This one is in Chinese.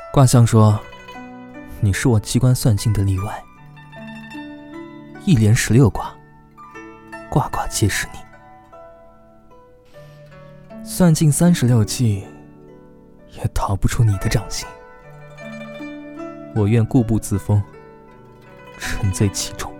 卦象说，你是我机关算尽的例外。一连16卦，卦卦皆是你。算尽36计，也逃不出你的掌心。我愿固步自封，沉醉其中。